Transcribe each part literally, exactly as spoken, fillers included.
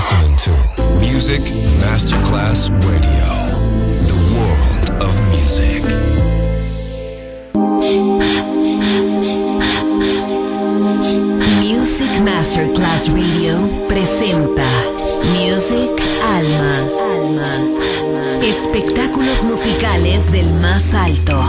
listening to Music Masterclass Radio, the world of music. Music Masterclass Radio presenta Music Alma. Alma. Espectáculos musicales del más alto.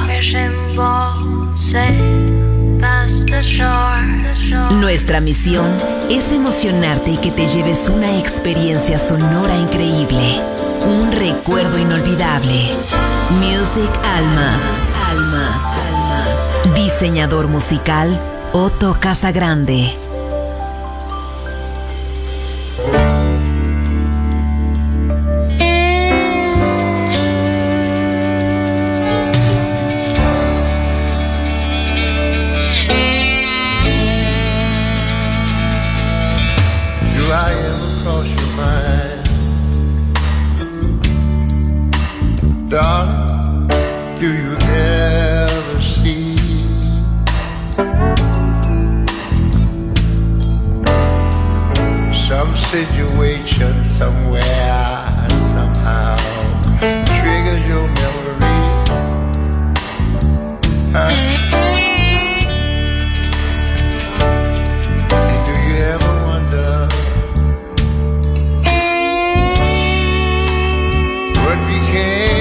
Nuestra misión es emocionarte y que te lleves una experiencia sonora increíble, un recuerdo inolvidable. Music Alma. Alma. Alma. Diseñador musical Otto Casagrande. Darling, do you ever see some situation somewhere, somehow triggers your memory? Huh? And do you ever wonder what became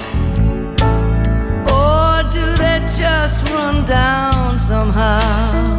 down somehow?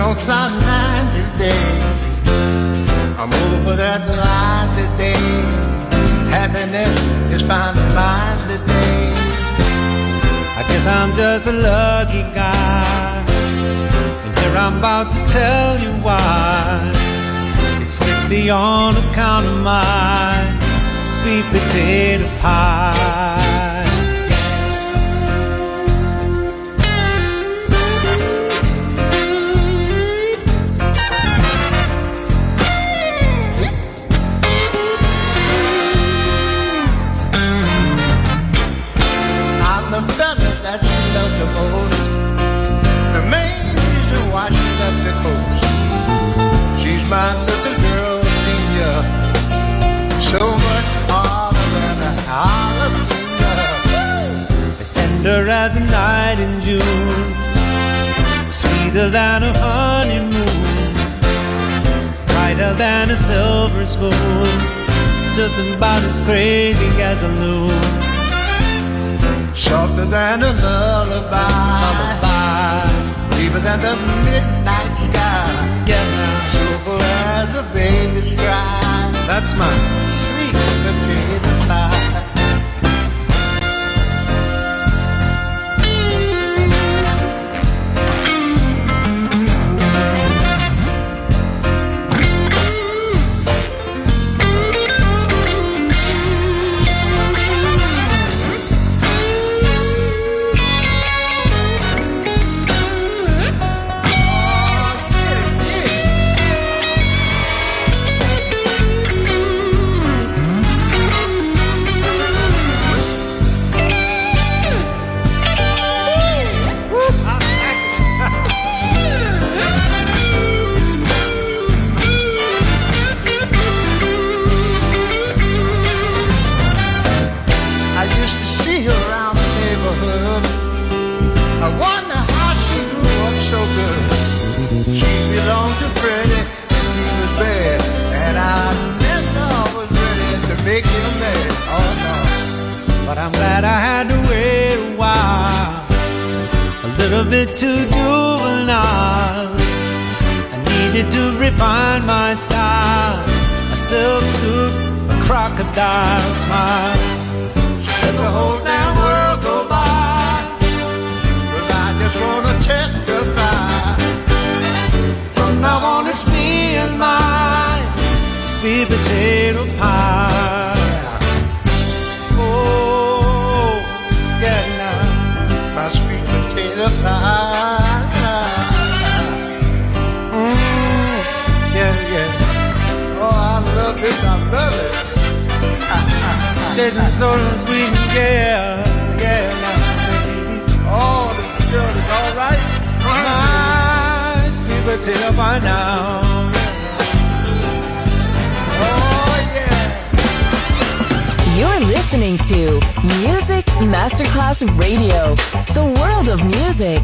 don't sound nine today. I'm over that line today. Happiness is finding mine today. I guess I'm just a lucky guy, and here I'm about to tell you why. It's strictly on account of my sweet potato pie. The fella that she loved the most, the main reason why she left the coast. She's my little girl, senior, so much harder than a jalapeno. As tender as a night in June, sweeter than a honeymoon, brighter than a silver spoon, just about as crazy as a loon. Softer than a lullaby, lullaby. Deeper than the midnight sky, yeah, now. Soulful as a baby's cry. That's my sweet potato pie. bit too juvenile. I needed to refine my style. A silk suit, a crocodile smile. Let the whole damn world go by, 'cause I just wanna testify. From now on it's me and my sweet potato pie. Oh, yeah, now my sweet potato pie. Mm, yeah, yeah. Oh, I love this, I love it. This is so sweet, yeah, yeah, now, baby. Oh, this girl is all right. My sweet potato pie now. Oh, yeah. You're listening to Music Masterclass Radio, the world of music.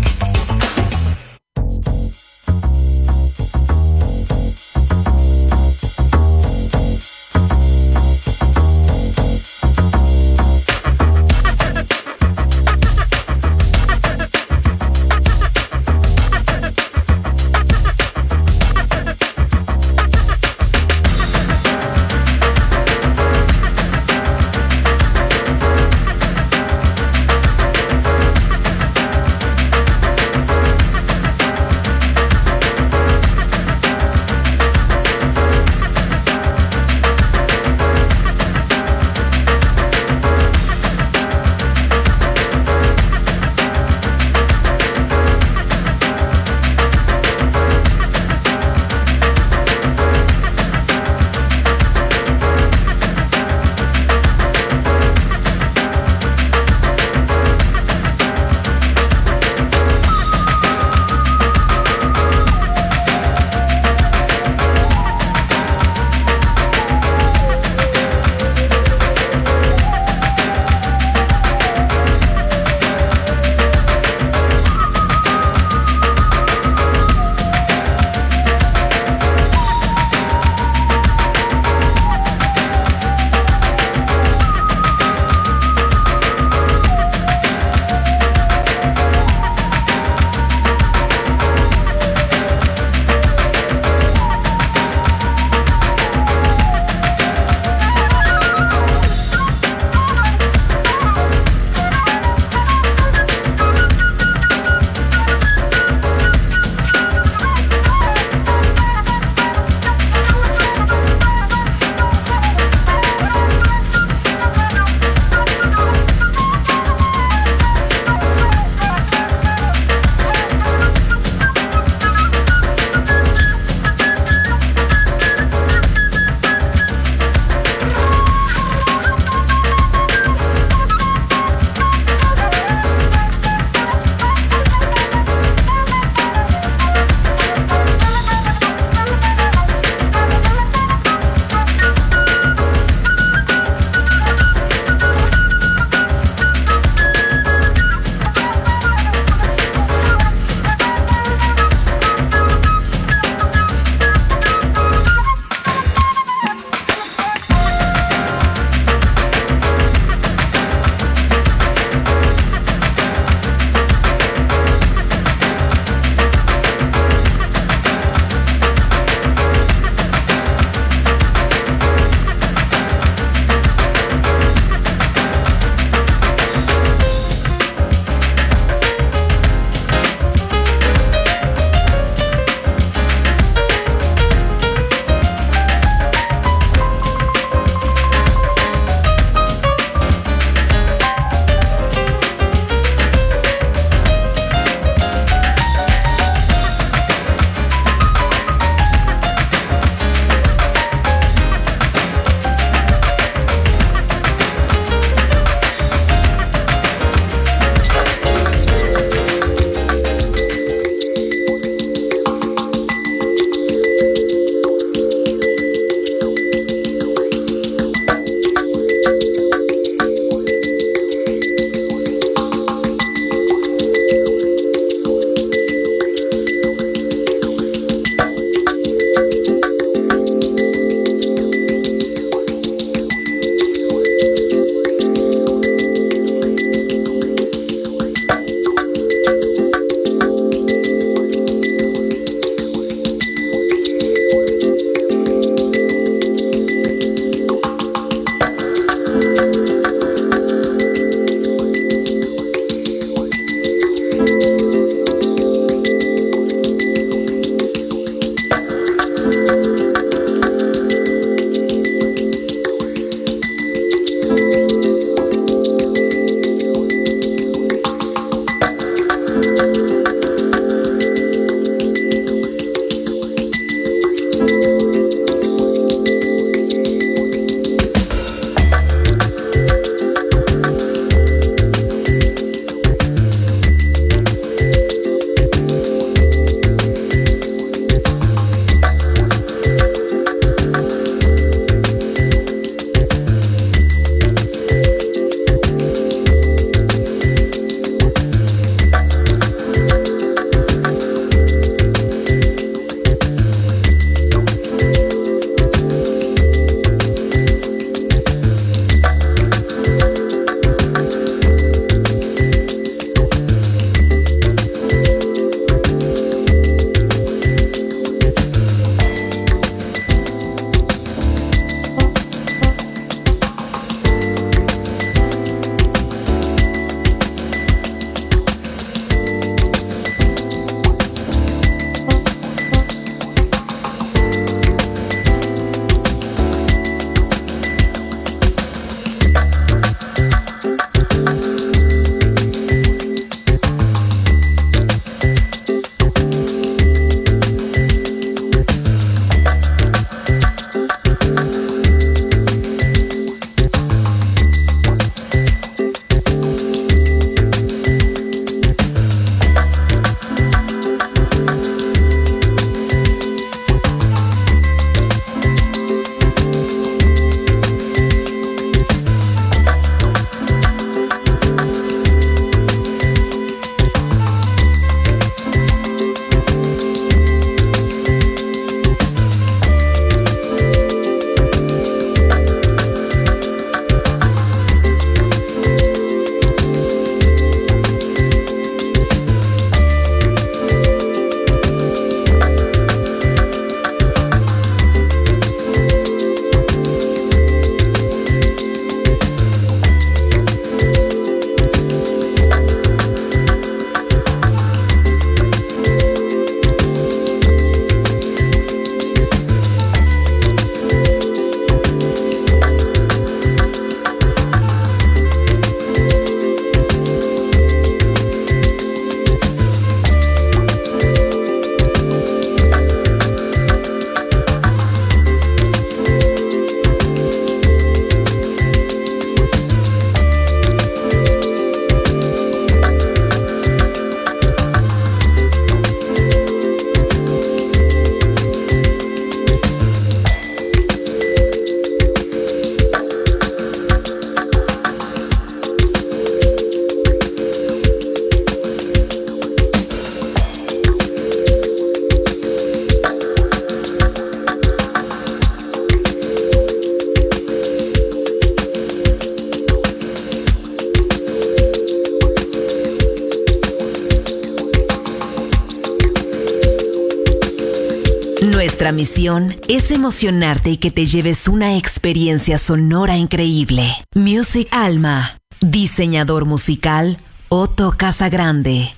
Nuestra misión es emocionarte y que te lleves una experiencia sonora increíble. Music Alma. Diseñador musical Otto Casagrande.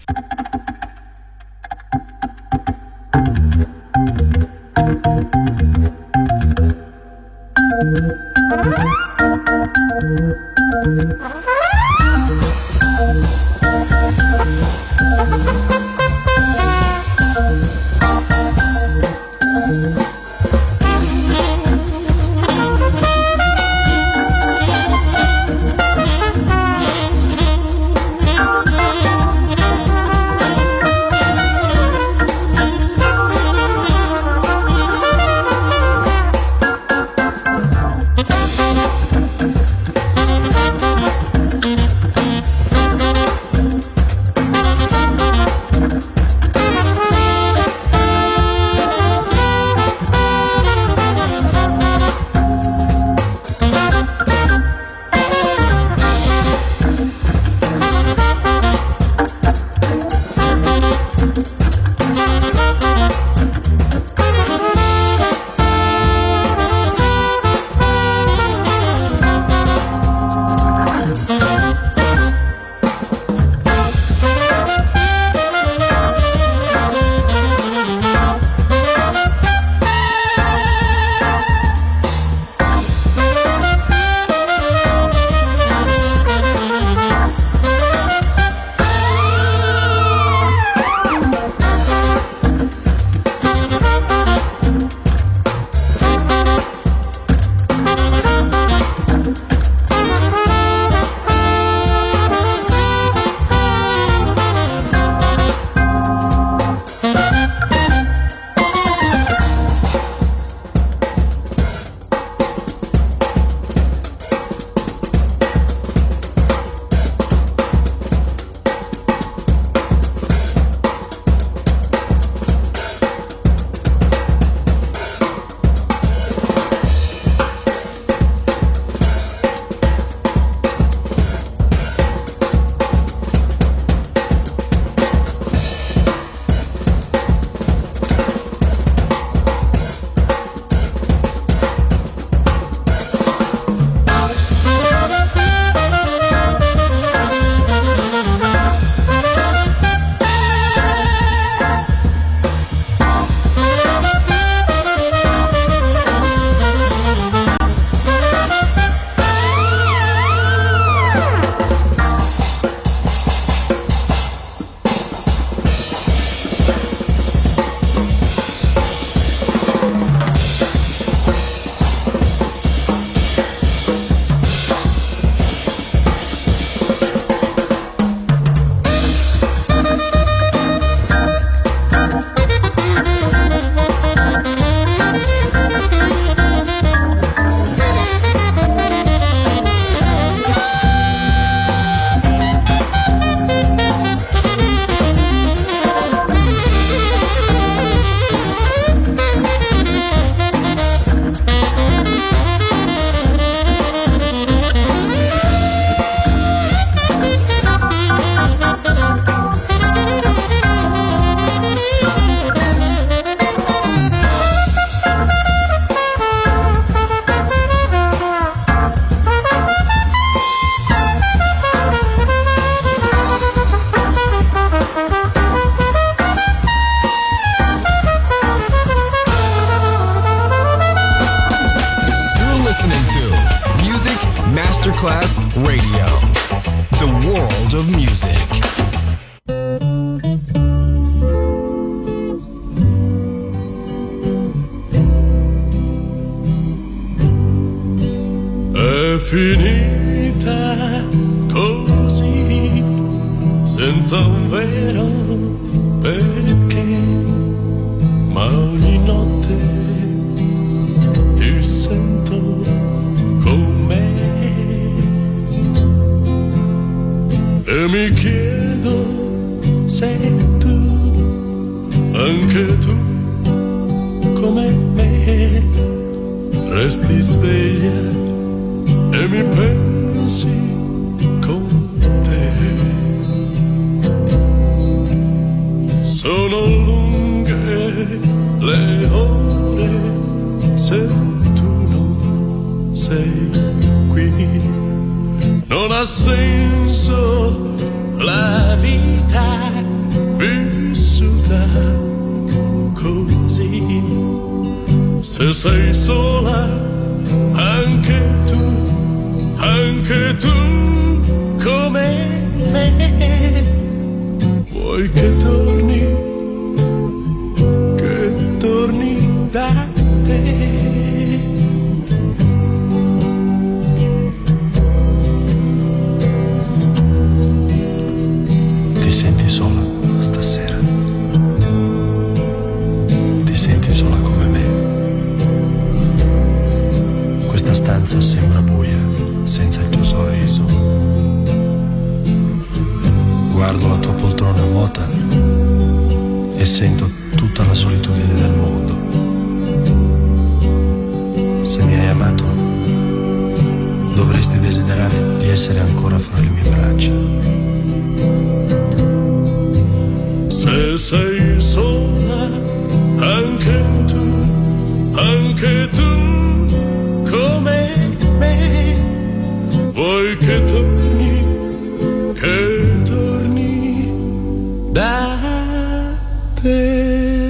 Masterclass Radio, the world of music. È finita così, senza un vero perché, ma ogni notte ti sento con me e mi chiedo se tu, anche tu, come me, resti sveglia e mi pensi con te. Sono lunghe le ore se tu non sei qui. Non ha senso la vita vissuta così. Se sei sola anche tu, anche tu come me, vuoi che torni, che torni da te. Ti senti sola stasera? Ti senti sola come me? Questa stanza sembra buia senza il tuo sorriso. Guardo la tua poltrona vuota e sento tutta la solitudine del mondo. Se mi hai amato, dovresti desiderare di essere ancora fra le mie braccia. Se sei sola, anche tu, anche tu, come me, vuoi che torni, che torni da te.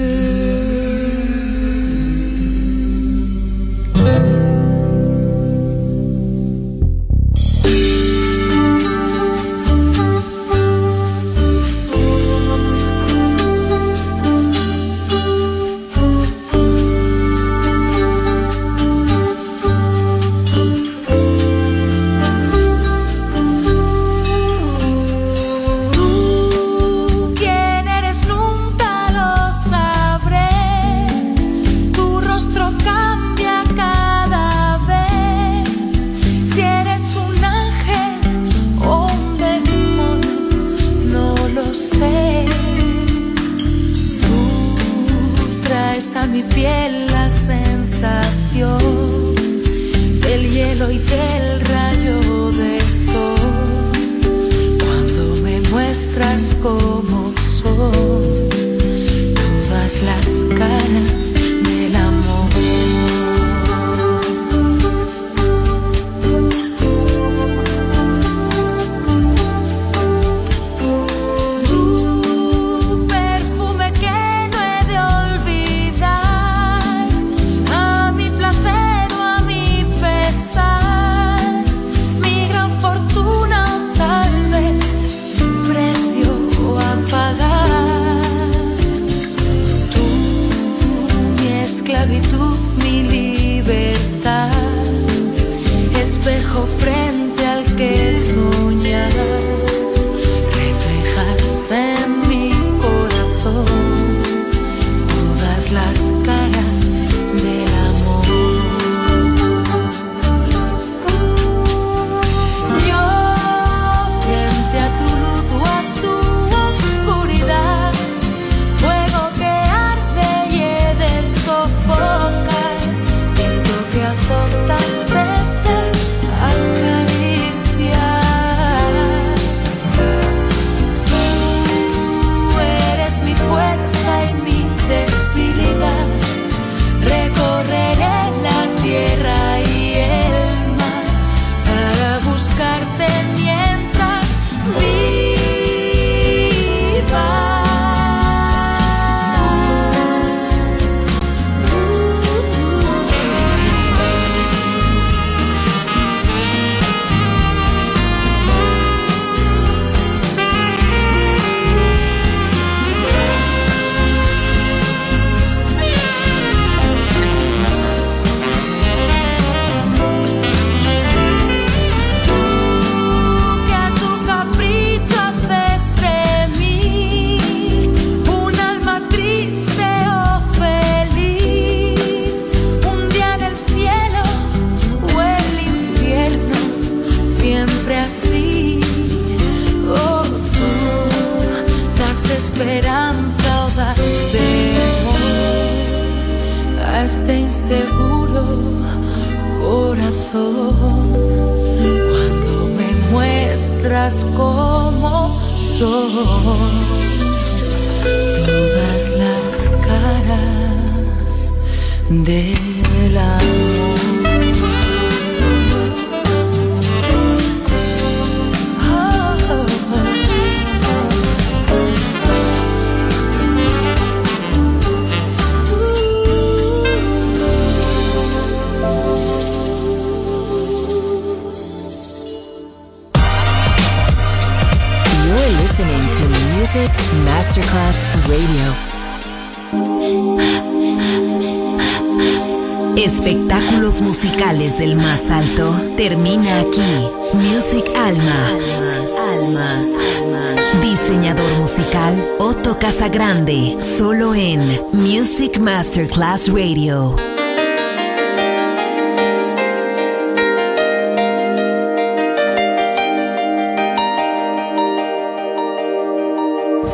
Como soy, todas las caras del amor. Listening to Music Masterclass Radio. Espectáculos musicales del más alto termina aquí. Music Alma. Alma. Alma. Diseñador musical Otto Casagrande. Solo en Music Masterclass Radio.